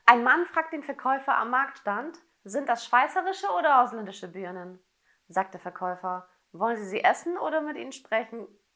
Ein Mann fragt den Verkäufer am Marktstand: Sind das schweizerische oder ausländische Birnen? Sagt der Verkäufer: Wollen Sie sie essen oder mit ihnen sprechen?